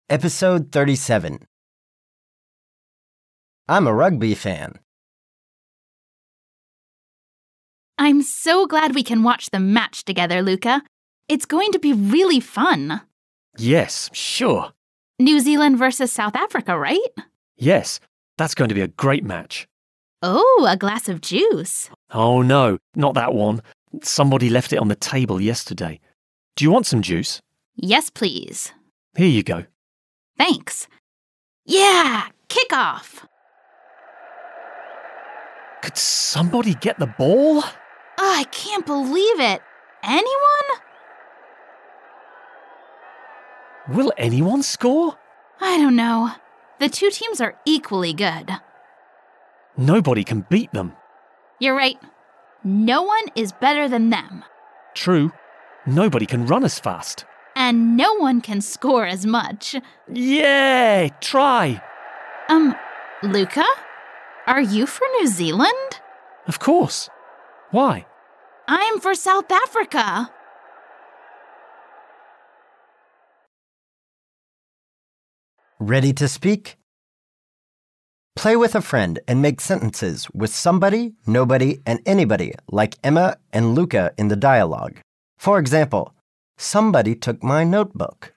Episode 37. I'm a rugby fan. I'm so glad we can watch the match together, Luca. It's going to be really fun. Yes, sure. New Zealand versus South Africa, right? Yes, that's going to be a great match. Oh, a glass of juice. Oh no, not that one. Somebody left it on the table yesterday. Do you want some juice? Yes, please. Here you go. Thanks. Yeah, kick off. Could somebody get the ball? Oh, I can't believe it. Anyone? Will anyone score? I don't know. The two teams are equally good. Nobody can beat them. You're right. No one is better than them. True. Nobody can run as fast. And no one can score as much. Yay! Try! Luca? Are you for New Zealand? Of course. Why? I'm for South Africa. Ready to speak? Play with a friend and make sentences with somebody, nobody, and anybody, like Emma and Luca in the dialogue. For example, somebody took my notebook.